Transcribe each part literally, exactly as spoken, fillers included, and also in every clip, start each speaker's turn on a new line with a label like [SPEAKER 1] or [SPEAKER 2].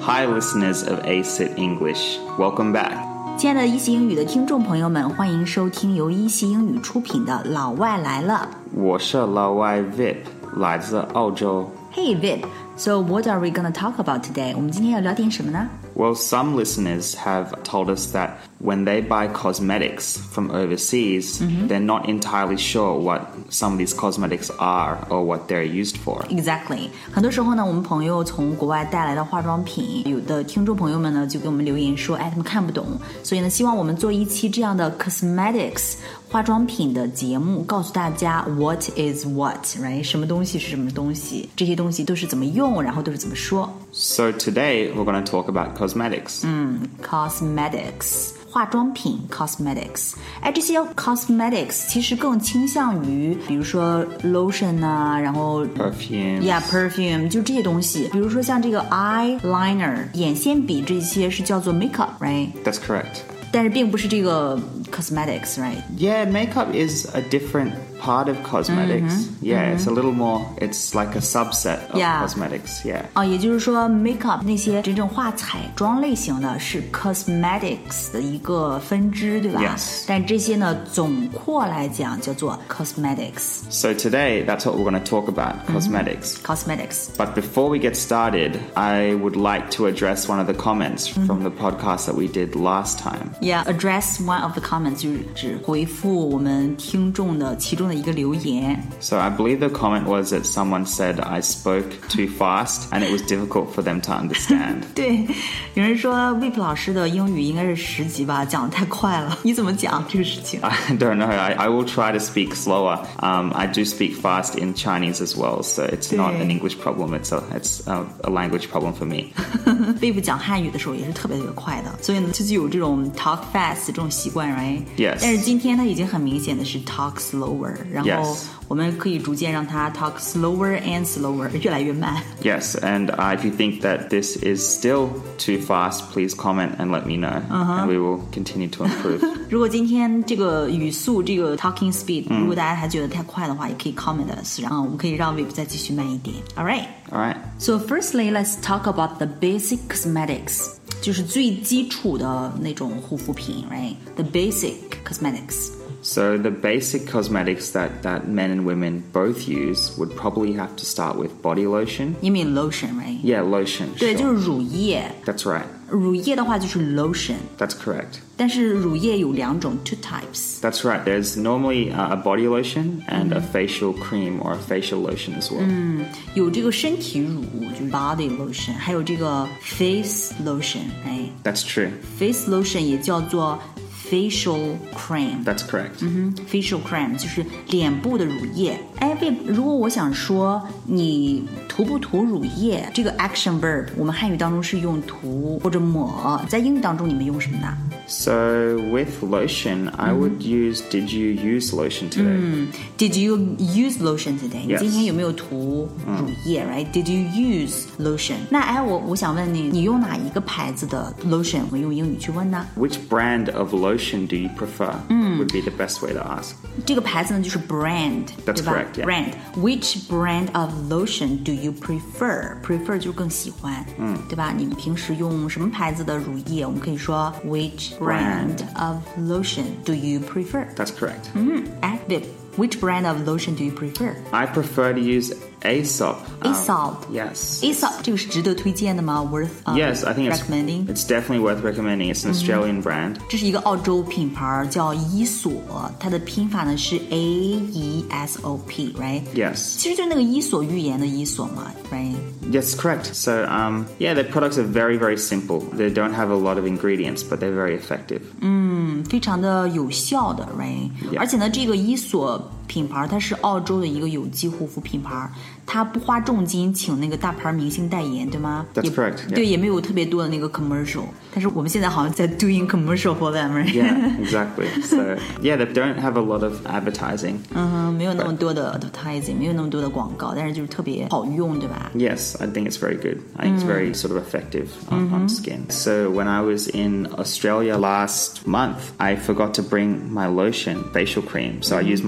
[SPEAKER 1] Hi, listeners of A C I T English. Welcome back.
[SPEAKER 2] 亲爱的一席英语的听众朋友们，欢迎收听由一席英语出品的《老外来了》。
[SPEAKER 1] 我是老外 Vip， 来自澳洲。
[SPEAKER 2] Hey Vip, so what are we going to talk about today? 我们今天要聊点什么呢？
[SPEAKER 1] Well, some listeners have told us that when they buy cosmetics from overseas, mm-hmm. they're not entirely sure what some of these cosmetics are or what they're used for.
[SPEAKER 2] Exactly. 很多时候呢，我们朋友从国外带来的化妆品，有的听众朋友们呢就给我们留言说，哎，他们看不懂，所以呢，希望我们做一期这样的 cosmetics 化妆品的节目，告诉大家 what is what, right? 什么东西是什么东西，这些东西都是怎么用，然后都是怎么说。
[SPEAKER 1] So today we're going to talk about cosmetics.
[SPEAKER 2] 嗯 cosmetics 化妆品 cosmetics 哎，这些 cosmetics 其实更倾向于比如说 lotion 啊，然后
[SPEAKER 1] perfume
[SPEAKER 2] yeah perfume 就这些东西，比如说像这个 eyeliner 眼线笔，这些是叫做 makeup, right?
[SPEAKER 1] That's correct.
[SPEAKER 2] 但是并不是这个 cosmetics, right?
[SPEAKER 1] Yeah, makeup is a different part of cosmetics.
[SPEAKER 2] Mm-hmm.
[SPEAKER 1] Yeah,
[SPEAKER 2] mm-hmm.
[SPEAKER 1] it's a little more, it's like a subset of
[SPEAKER 2] yeah.
[SPEAKER 1] cosmetics. Yeah.
[SPEAKER 2] 哦，也就是说 makeup 那些真正画彩妆类型的是 cosmetics 的一个分支，对吧？
[SPEAKER 1] Yes.
[SPEAKER 2] 但这些呢，总括来讲叫做 cosmetics.
[SPEAKER 1] So today, that's what we're going to talk about, cosmetics.
[SPEAKER 2] Mm-hmm. Cosmetics.
[SPEAKER 1] But before we get started, I would like to address one of the comments mm-hmm. from the podcast that we did last time.
[SPEAKER 2] Yeah, address one of the comments 就是指回复我们听众的其中的一个留言。
[SPEAKER 1] So I believe the comment was that someone said I spoke too fast and it was difficult for them to understand.
[SPEAKER 2] 对，有人说 Vip 老师的英语应该是十级吧，讲得太快了。你怎么讲这个事情？
[SPEAKER 1] I don't know. I, I will try to speak slower. Um, I do speak fast in Chinese as well, so it's not an English problem. It's a, it's a, a language problem for me.
[SPEAKER 2] Vip 讲汉语的时候也是特别特别快的，所以呢，就有这种 talk fast 这种习惯 right?
[SPEAKER 1] Yes.
[SPEAKER 2] 但是今天他已经很明显的是 talk slower， 然后
[SPEAKER 1] Yes.
[SPEAKER 2] 我们可以逐渐让他 talk slower and slower， 越来越慢。
[SPEAKER 1] Yes, and uh, if you think that this is still too fast, please comment and let me know, uh-huh. and we will continue to improve.
[SPEAKER 2] 如果今天这个语速，这个 talking speed，、嗯、如果大家还觉得太快的话，也可以 comment us， 然后我们可以让 Vip 再继续慢一点。All right.
[SPEAKER 1] All right.
[SPEAKER 2] So firstly, let's talk about the basic cosmetics. 就是最基础的那种护肤品 right? The basic cosmetics.
[SPEAKER 1] So the basic cosmetics that, that men and women both use would probably have to start with body lotion.
[SPEAKER 2] You mean lotion, right?
[SPEAKER 1] Yeah, lotion.
[SPEAKER 2] 对，
[SPEAKER 1] sure.
[SPEAKER 2] 就是乳液。
[SPEAKER 1] That's right.
[SPEAKER 2] 乳液的话就是 lotion.
[SPEAKER 1] That's correct.
[SPEAKER 2] 但是乳液有两种 two types.
[SPEAKER 1] That's right. There's normally uh, a body lotion and a facial cream or a facial lotion as well.
[SPEAKER 2] 嗯，有这个身体乳，就是 body lotion， 还有这个 face lotion， 哎。
[SPEAKER 1] That's true.
[SPEAKER 2] Face lotion 也叫做facial cream.
[SPEAKER 1] That's correct.
[SPEAKER 2] 嗯哼 facial cream 就是脸部的乳液。哎，如果我想说你涂不涂乳液，这个 action verb 我们汉语当中是用涂或者抹，在英语当中你们用什么呢？
[SPEAKER 1] So with lotion, I would use, did you use lotion today?
[SPEAKER 2] 嗯 Did you use lotion today?
[SPEAKER 1] Yes.
[SPEAKER 2] 你今天有没有涂乳液 right? Did you use lotion? 那哎，我我想问你，你用哪一个牌子的 lotion？ 我们用英语去问呢？
[SPEAKER 1] Which brand of lotion do you prefer? Would be the best way to ask.
[SPEAKER 2] 这个牌子呢就是 brand，
[SPEAKER 1] That's
[SPEAKER 2] 对吧
[SPEAKER 1] correct, yeah.
[SPEAKER 2] Brand. Which brand of lotion do you prefer? Prefer 就是更喜欢，嗯，对吧？你们平时用什么牌子的乳液？我们可以说 Which brand of lotion do you prefer?
[SPEAKER 1] That's correct.
[SPEAKER 2] 嗯 At Vip.Which brand of lotion do you prefer?
[SPEAKER 1] I prefer to use Aesop. Um,
[SPEAKER 2] Aesop.
[SPEAKER 1] Yes.
[SPEAKER 2] Aesop 这个是值得推荐的吗 ？Worth um,
[SPEAKER 1] Yes, I think it's,
[SPEAKER 2] recommending.
[SPEAKER 1] it's definitely worth recommending. It's an Australian brand.
[SPEAKER 2] 这是一个澳洲品牌，叫伊索，它的拼法呢是 A E S O P, right?
[SPEAKER 1] Yes.
[SPEAKER 2] 其实就是那个伊索寓言的伊索嘛 ，right?
[SPEAKER 1] Yes, correct. So, um, yeah, their products are very, very simple. They don't have a lot of ingredients, but they're very effective.
[SPEAKER 2] 嗯，非常的有效的 ，right?
[SPEAKER 1] Yeah.
[SPEAKER 2] 而且呢，这个伊索品牌它是澳洲的一个有机护肤品牌，它不花重金请那个大牌明星代言，对吗？
[SPEAKER 1] That's correct. Yeah.
[SPEAKER 2] 对，也没有特别多的那个 commercial。但是我们现在好像在 doing commercial for them, right?
[SPEAKER 1] Yeah, exactly. So, yeah, they don't have a lot of advertising.
[SPEAKER 2] 嗯哼，没有那么多的 advertising， 没有那么多的广告，但是就是特别好用，对吧？
[SPEAKER 1] Yes, I think it's very good. I think it's very sort of effective on, on skin. So when I was in Australia last month, I forgot to bring my lotion, facial cream. So I used my brother's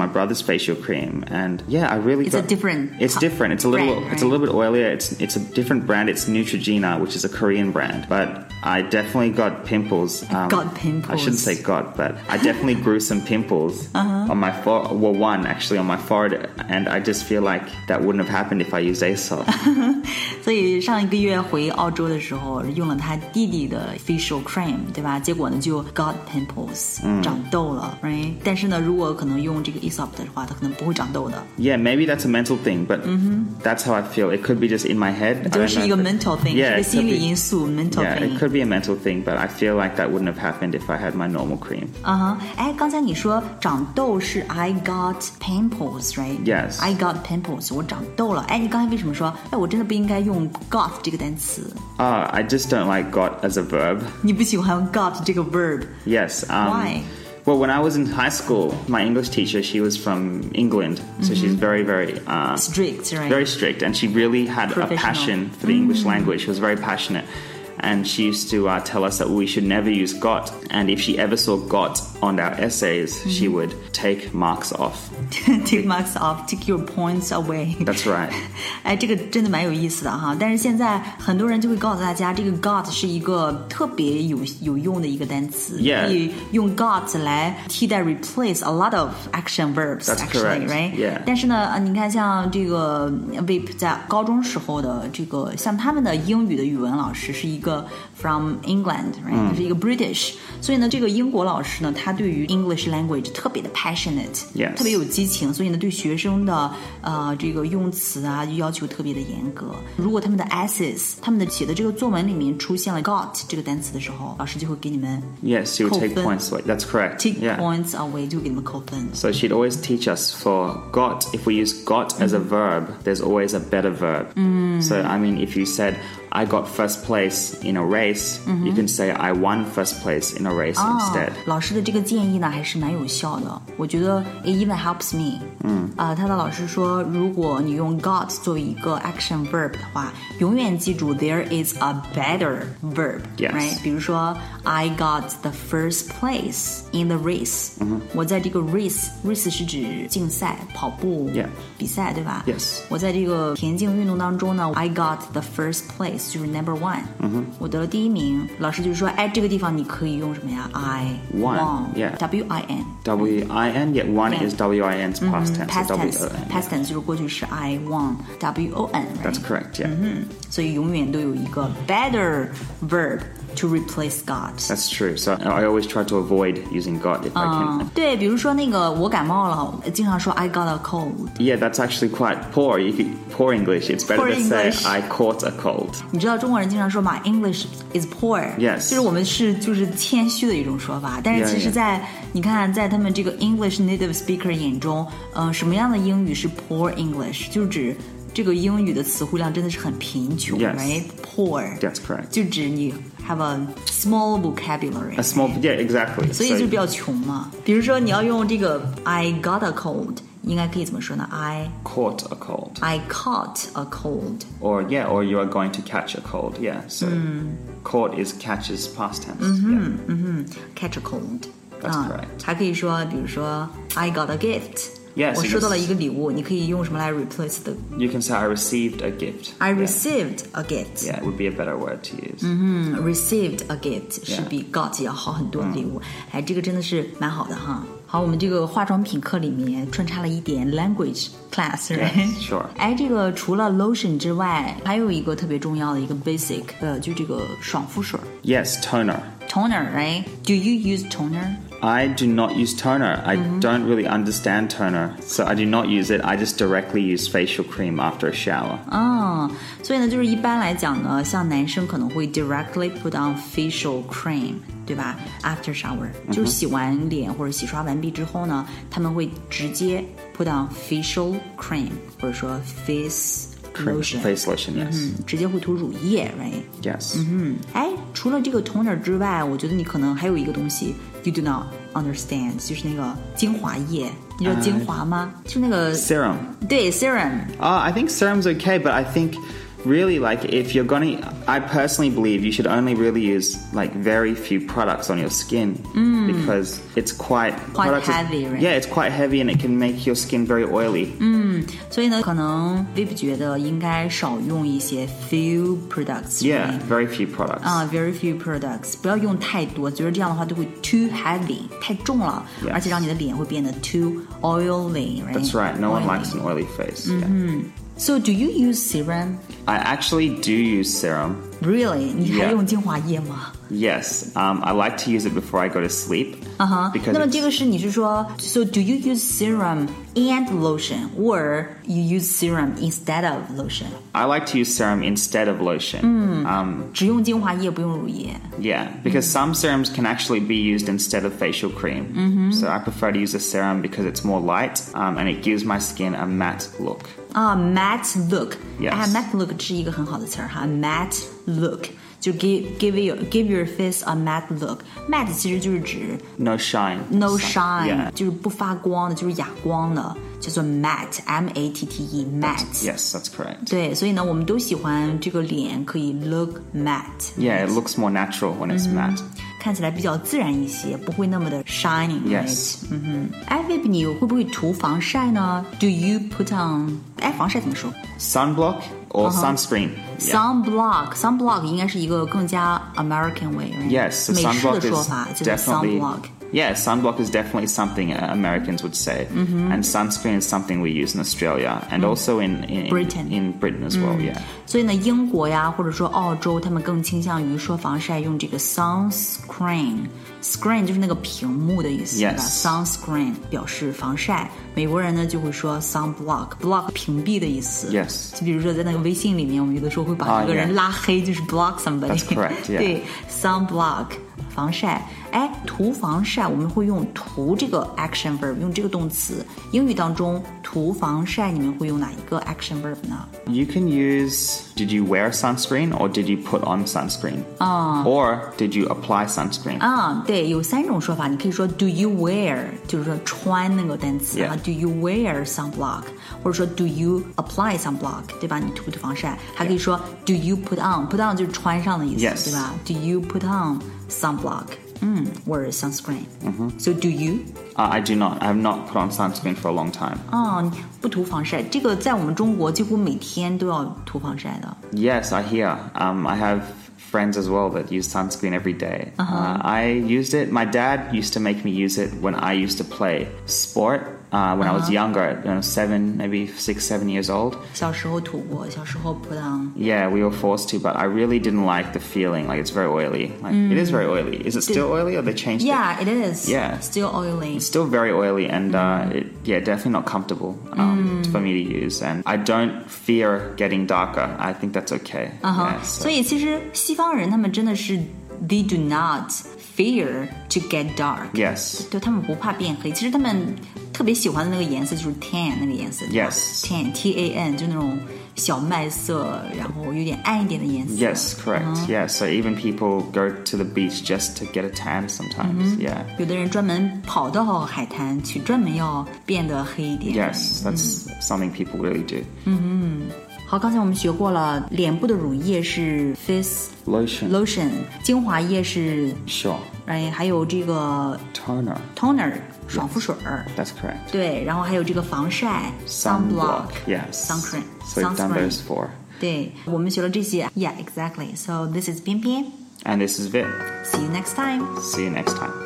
[SPEAKER 1] facial cream, and yeah, I really
[SPEAKER 2] It's
[SPEAKER 1] got,
[SPEAKER 2] a different
[SPEAKER 1] It's different. It's a little.
[SPEAKER 2] brand, right?
[SPEAKER 1] It's a little bit oilier. It's it's a different brand. It's Neutrogena, which is a Korean brand. But I definitely got pimples. Um,
[SPEAKER 2] got pimples.
[SPEAKER 1] I shouldn't say got, but I definitely grew some pimples uh-huh. on my forehead. Well, one actually on my forehead, and I just feel like that wouldn't have happened if I used Aesop.
[SPEAKER 2] 所以上一个月回澳洲的时候，用了他弟弟的 facial cream， 对吧？结果呢就 got pimples，、嗯、长痘了 ，right？ 但是呢，如果可能用这个 Aesop 的话，它可能不会长痘的。
[SPEAKER 1] Yeah, maybe that's a mental thing, but mm-hmm. that's how I feel. It could be just in my head.
[SPEAKER 2] 就是一个 mental thing，
[SPEAKER 1] yeah,
[SPEAKER 2] 是个心理因素 mental
[SPEAKER 1] yeah,
[SPEAKER 2] thing。
[SPEAKER 1] it could be a mental thing, but I feel like that wouldn't have happened if I had my normal cream.
[SPEAKER 2] 啊哈，哎，刚才你说长痘是 I got pimples, right?
[SPEAKER 1] Yes.
[SPEAKER 2] I got pimples， 我长痘了。哎，你刚才为什么说，哎，我真的不应该用 got 这个单词？
[SPEAKER 1] Ah, uh, I just don't like got as a verb.
[SPEAKER 2] 你不喜欢 got 这个 verb？
[SPEAKER 1] Yes. Um,
[SPEAKER 2] Why?
[SPEAKER 1] Well, when I was in high school, my English teacher, she was from England, so mm-hmm. she's very, very uh,
[SPEAKER 2] strict, right?
[SPEAKER 1] Very strict, and she really had a passion for the mm-hmm. English language. She was very passionate. And she used to uh, tell us that we should never use got. And if she ever saw got on our essays, mm-hmm. she would take marks off.
[SPEAKER 2] Take marks off, take your points away.
[SPEAKER 1] That's right.
[SPEAKER 2] 哎，这个真的蛮有意思的哈。但是现在很多人就会告诉大家，这个 got 是一个特别有有用的一个单词，
[SPEAKER 1] yeah.
[SPEAKER 2] 可以用 got 来替代 replace a lot of action verbs.
[SPEAKER 1] That's
[SPEAKER 2] actually,
[SPEAKER 1] correct.
[SPEAKER 2] Right?
[SPEAKER 1] Yeah.
[SPEAKER 2] 但是呢，你看像这个 Vip 在高中时候的这个，像他们的英语的语文老师是一个。From England, right? 他、嗯、是一个 British， 所以呢，这个英国老师呢，他对于 English language 特别的 passionate，
[SPEAKER 1] yes.
[SPEAKER 2] 特别有激情，所以呢，对学生的呃这个用词啊要求特别的严格。如果他们的 essays， 他们的写的这个作文里面出现了 got 这个单词的时候，老师就会给你们
[SPEAKER 1] yes, you would take points away. That's correct.
[SPEAKER 2] Take
[SPEAKER 1] yeah.
[SPEAKER 2] points away 就给你们扣分。
[SPEAKER 1] So she'd always teach us for got. If we use got as a verb, there's always a better verb. Mm. So I mean, if you said I got first place in a race, mm-hmm. you can say I won first place in a race、oh, instead.
[SPEAKER 2] 老师的这个建议呢还是蛮有效的，我觉得 it even helps me. 嗯，啊、呃，他的老师说，如果你用 got 作为一个 action verb 的话，永远记住 there is a better verb,
[SPEAKER 1] yes.
[SPEAKER 2] right? 比如说 I got the first place in the race. 嗯、我在这个 race race 是指竞赛、跑步、
[SPEAKER 1] yeah.
[SPEAKER 2] 比赛，对吧
[SPEAKER 1] ？Yes.
[SPEAKER 2] 我在这个田径运动当中呢 I got the first place.就是 number one，、嗯、我得了第一名。老师就说，哎，这个地方你可以用什么呀 ？I
[SPEAKER 1] won, yeah.
[SPEAKER 2] W I N.
[SPEAKER 1] W I N, yeah. One yeah. is W I N's past tense.
[SPEAKER 2] Past
[SPEAKER 1] so
[SPEAKER 2] tense,
[SPEAKER 1] W O N,
[SPEAKER 2] past tense 就是过去式 I won, W O N. Right?
[SPEAKER 1] That's correct, yeah.
[SPEAKER 2] 嗯哼，所以永远都有一个 better verb.To replace got.
[SPEAKER 1] That's true. So I always try to avoid using got if、uh, I can.
[SPEAKER 2] 对，比如说那个我感冒了，经常说 I got a cold.
[SPEAKER 1] Yeah, that's actually quite poor. You could, poor English. It's better
[SPEAKER 2] poor
[SPEAKER 1] to
[SPEAKER 2] English.
[SPEAKER 1] say I caught a cold.
[SPEAKER 2] 你知道中国人经常说嘛 English is poor.
[SPEAKER 1] Yes.
[SPEAKER 2] 就是我们是就是谦虚的一种说法，但是其实在，在 yeah, yeah. 你看在他们这个 English native speaker 眼中，呃，什么样的英语是 poor English？ 就是指这个英语的词汇量真的是很贫穷
[SPEAKER 1] yes.
[SPEAKER 2] right? Poor.
[SPEAKER 1] That's correct.
[SPEAKER 2] 就指你 have a small vocabulary.
[SPEAKER 1] A small, yeah, exactly.
[SPEAKER 2] 所以就比较穷嘛。比如说你要用这个 I got a cold， 应该可以怎么说呢 ？I
[SPEAKER 1] caught a cold.
[SPEAKER 2] I caught a cold.
[SPEAKER 1] Or yeah, or you are going to catch a cold. Yeah. So、嗯、caught is catches past tense.
[SPEAKER 2] 嗯哼
[SPEAKER 1] yeah.
[SPEAKER 2] 嗯哼 catch a cold.
[SPEAKER 1] That's、啊、correct.
[SPEAKER 2] 还可以说，比如说 I got a gift.Yes, 我收到了一个礼物，你可以用什么来 replace 的
[SPEAKER 1] You can say I received a gift.
[SPEAKER 2] I received yeah. a gift.
[SPEAKER 1] Yeah, it would be a better word to use.
[SPEAKER 2] 嗯哼 received a gift、yeah. 是比 got 要好很多的礼物。嗯、哎，这个真的是蛮好的哈。好，我们这个化妆品课里面穿插了一点 language class, right?
[SPEAKER 1] Yes, sure.
[SPEAKER 2] 哎，这个除了 lotion 之外，还有一个特别重要的一个 basic， 呃，就这个爽肤水。
[SPEAKER 1] Yes, toner.
[SPEAKER 2] Toner, right? Do you use toner?I
[SPEAKER 1] do not use toner. I mm-hmm. don't really understand toner, so I do not use it. I just directly use facial cream after a shower.
[SPEAKER 2] 哦，所以呢，就是一般来讲呢，像男生可能会 directly put on facial cream， 对吧 ？After shower，、嗯、就是洗完脸或者洗刷完毕之后呢，他们会直接 put on facial cream， 或者说 face。Lotion.
[SPEAKER 1] Face lotion, yes.
[SPEAKER 2] 嗯，直接会涂乳液 ，right?
[SPEAKER 1] Yes.
[SPEAKER 2] 嗯哼，哎，除了这个 toner 之外，我觉得你可能还有一个东西 you do not understand， 就是那个精华液。你知道精华吗？ uh, 就那个
[SPEAKER 1] serum.
[SPEAKER 2] 对 serum.
[SPEAKER 1] Uh, I think serum's okay, but I think really, like, if you're gonna, I personally believe you should only really use like very few products on your skin
[SPEAKER 2] mm.
[SPEAKER 1] because it's quite
[SPEAKER 2] quite heavy,
[SPEAKER 1] is,
[SPEAKER 2] right?
[SPEAKER 1] Yeah, it's quite heavy and it can make your skin very oily.
[SPEAKER 2] 嗯，所以呢，可能 Vip 觉得应该少用一些 few products.
[SPEAKER 1] Yeah,
[SPEAKER 2] right?
[SPEAKER 1] very few products.
[SPEAKER 2] 啊、uh, ，very few products， 不要用太多，觉得这样的话就会 too heavy， 太重了，
[SPEAKER 1] yes.
[SPEAKER 2] 而且让你的脸会变得 too oily, right?
[SPEAKER 1] That's right. No
[SPEAKER 2] oily.
[SPEAKER 1] one likes an oily face.
[SPEAKER 2] Mm-hmm.
[SPEAKER 1] Yeah.
[SPEAKER 2] So, do you use serum?
[SPEAKER 1] I actually do use serum.
[SPEAKER 2] Really? 你还
[SPEAKER 1] Yeah.
[SPEAKER 2] 用精华液吗？
[SPEAKER 1] Yes, um, I like to use it before I go to sleep.
[SPEAKER 2] 啊哈。
[SPEAKER 1] Because
[SPEAKER 2] 那么
[SPEAKER 1] it's-
[SPEAKER 2] 这个是你是说 ，So do you use serum and lotion, or you use serum instead of lotion?
[SPEAKER 1] I like to use serum instead of lotion. Um,
[SPEAKER 2] 只用精华液不用乳液。
[SPEAKER 1] yeah, because some serums can actually be used instead of facial cream. So I prefer to use a serum because it's more light um, and it gives my skin a matte look.
[SPEAKER 2] 啊、matte look，
[SPEAKER 1] Yes.
[SPEAKER 2] 哎 ，matte look 是一个很好的词儿哈 ，matte look 就 give give your give your face a matte look。matte 其实就是指
[SPEAKER 1] No shine.
[SPEAKER 2] no
[SPEAKER 1] So-
[SPEAKER 2] shine，、
[SPEAKER 1] Yeah.
[SPEAKER 2] 就是不发光的，就是哑光的，叫做 matte，m a t t e，matte。
[SPEAKER 1] Yes, that's correct.
[SPEAKER 2] 对，所以呢，我们都喜欢这个脸可以 look matte。
[SPEAKER 1] Yeah, it looks more natural when it's matte.
[SPEAKER 2] 看起来比较自然一些，不会那么的 shining。
[SPEAKER 1] Yes.
[SPEAKER 2] 嗯哼。哎 ，Vip， 你会不会涂防晒呢 ？Do you put on？ 哎，防晒怎么说
[SPEAKER 1] Sunblock or sunscreen. Yeah.
[SPEAKER 2] ？Sunblock，sunblock 应该是一个更加 American way，right?
[SPEAKER 1] Yes, so
[SPEAKER 2] 美式的
[SPEAKER 1] sunblock
[SPEAKER 2] 说
[SPEAKER 1] is
[SPEAKER 2] 法就是
[SPEAKER 1] definitely
[SPEAKER 2] sunblock。
[SPEAKER 1] yeah, sunblock is definitely something uh, Americans would say, and sunscreen is something we use in Australia and also in, in
[SPEAKER 2] Britain.
[SPEAKER 1] in Britain as well. Yeah,
[SPEAKER 2] 所以呢，英国呀，或者说澳洲，他们更倾向于说防晒用这个 sunscreen。screen 就是那个屏幕的意思
[SPEAKER 1] Yes.
[SPEAKER 2] 对吧 ？sunscreen 表示防晒。美国人呢就会说 sunblock，block 屏蔽的意思。
[SPEAKER 1] Yes.
[SPEAKER 2] 就比如说在那个微信里面，我们有的时候会把
[SPEAKER 1] Ah,
[SPEAKER 2] 一个人
[SPEAKER 1] yeah.
[SPEAKER 2] 拉黑，就是 block somebody。
[SPEAKER 1] That's correct, yeah.
[SPEAKER 2] 对 ，sunblock 防晒。哎，涂防晒我们会用涂这个 action verb， 用这个动词。英语当中涂防晒你们会用哪一个 action verb 呢？
[SPEAKER 1] you can use. Did you wear sunscreen or did you put on sunscreen? Or did you apply sunscreen?
[SPEAKER 2] 啊，对，有三种说法，你可以说 Do you wear， 就是说穿那个单词啊
[SPEAKER 1] Yeah.
[SPEAKER 2] Do you wear sunblock， 或者说 Do you apply sunblock， 对吧？你涂不涂防晒？还可以说 Do you put on，put on 就是穿上的意思
[SPEAKER 1] Yes.
[SPEAKER 2] 对吧 ？Do you put on sunblock？ 嗯 ，or sunscreen。嗯 So do you？
[SPEAKER 1] Uh, I do not. I have not put on sunscreen for a long time.
[SPEAKER 2] 哦，你不涂防晒，这个在我们中国几乎每天都要涂防晒的。
[SPEAKER 1] Yes, I hear. Um, I have friends as well that use sunscreen every day. Uh, I used it. My dad used to make me use it when I used to play sport. Uh, when I was younger, you know, seven, maybe six, seven years old.
[SPEAKER 2] 小时候涂过，小时候 put on。
[SPEAKER 1] Yeah, we were forced to, but I really didn't like the feeling. Like, it's very oily. Like, it is very oily. Is it still oily or they changed
[SPEAKER 2] Yeah,
[SPEAKER 1] it?
[SPEAKER 2] it is.
[SPEAKER 1] Yeah.
[SPEAKER 2] Still oily.
[SPEAKER 1] It's still very oily and, uh, it, yeah, definitely not comfortable um, for me to use. And I don't fear getting darker. I think that's okay.
[SPEAKER 2] 嗯哼
[SPEAKER 1] Yeah, so-
[SPEAKER 2] 所以其实西方人他们真的是 they do not fear to get dark。
[SPEAKER 1] Yes.
[SPEAKER 2] 对，他们不怕变黑。其实他们特别喜欢的那个颜色就是 tan 那个颜色。对吧
[SPEAKER 1] Yes.
[SPEAKER 2] tan T A N 就那种小麦色，然后有点暗一点的颜色。
[SPEAKER 1] Yes, correct. Yeah, so even people go to the beach just to get a tan sometimes. Yeah.
[SPEAKER 2] 有的人专门跑到海滩去，专门要变得黑一点。
[SPEAKER 1] Yes, that's something people really do.
[SPEAKER 2] 好，刚才我们学过了，脸部的乳液是 face
[SPEAKER 1] Lotion.
[SPEAKER 2] lotion， 精华液是
[SPEAKER 1] Sure.
[SPEAKER 2] 哎，还有这个
[SPEAKER 1] Toner.
[SPEAKER 2] toner 爽肤水儿。
[SPEAKER 1] That's correct.
[SPEAKER 2] 对，然后还有这个防晒
[SPEAKER 1] Sunblock. Yes.
[SPEAKER 2] sunscreen
[SPEAKER 1] So we've done
[SPEAKER 2] sunscreen
[SPEAKER 1] those four.
[SPEAKER 2] 对，我们学了这些。Yeah, exactly. So this is 边边。
[SPEAKER 1] And this is Vip.
[SPEAKER 2] See you next time.
[SPEAKER 1] See you next time.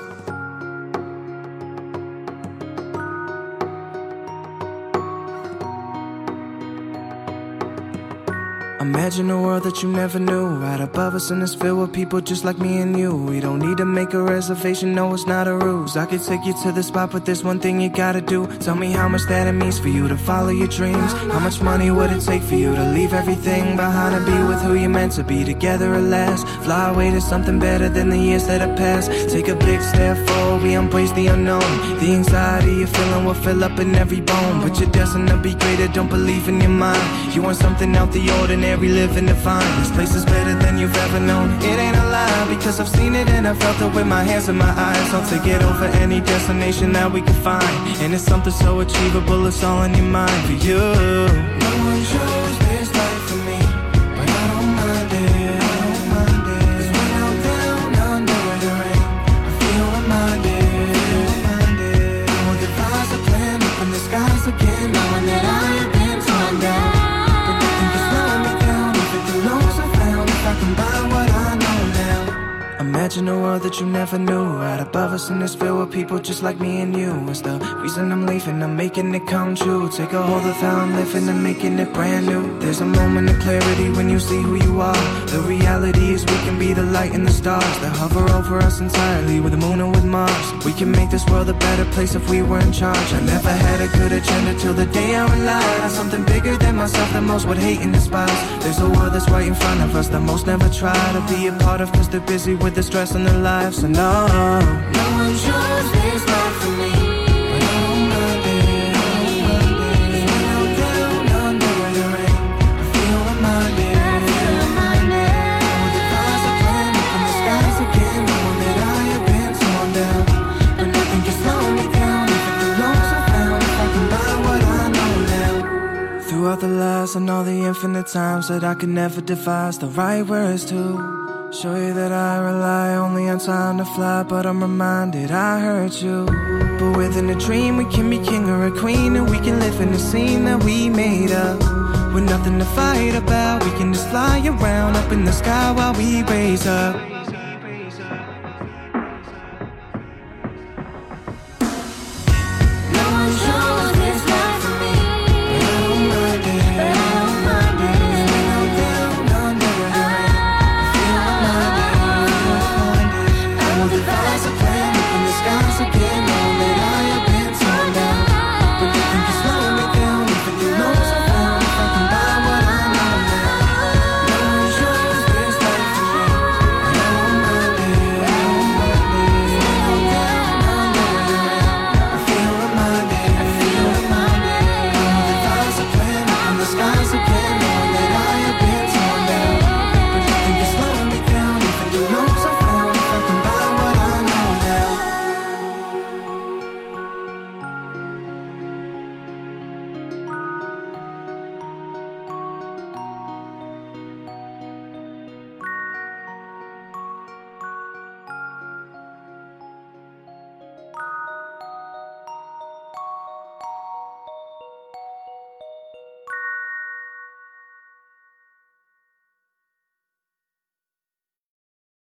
[SPEAKER 3] Imagine a world that you never knew. Right above us and it's filled with people just like me and you. We don't need to make a reservation, no, it's not a ruse. I could take you to the spot, but there's one thing you gotta do. Tell me how much that it means for you to follow your dreams. How much money would it take for you to leave everything behind and be with who you're meant to be together at last? Fly away to something better than the years that have passed. Take a big step forward, we embrace the unknown. The anxiety you're feeling will fill up in every bone. But you're destined to be greater, don't believe in your mind. You want something out the ordinary, living divine. This place is better than you've ever known. It ain't a lie, because I've seen it and I felt it with my hands and my eyes. I'll take it over any destination that we can find. And it's something so achievable, it's all in your mind for you. No one chose this life for me, Imagine a world that you never knew. Right above us and it's filled with people just like me and you. It's the reason I'm leaving, I'm making it come true. Take a hold of how I'm living and making it brand new. There's a moment of clarity when you see who you are. The reality is we can be the light and the stars that hover over us entirely, with the moon and with Mars. We can make this world a better place if we were in charge. I never had a good agenda till the day I relied on something bigger than myself that most would hate and despise. There's a world that's right in front of us that most never try to be a part of, cause they're busy with the stress in their lives. So no, no one chose this life for me. But I don't mind it, I don't mind it. Cause when I'm down under the rain, I feel reminded, I feel reminded. All the clouds are playing up in the skies again, knowing that I have been torn down. But nothing can slow me down if it belongs I found, if I can buy what I know now. Throughout the lies and all the infinite times that I could never devise the right words to show you that I rely only on time to fly, but I'm reminded I hurt you. But within a dream we can be king or a queen, and we can live in the scene that we made up. With nothing to fight about, we can just fly around up in the sky while we raise up.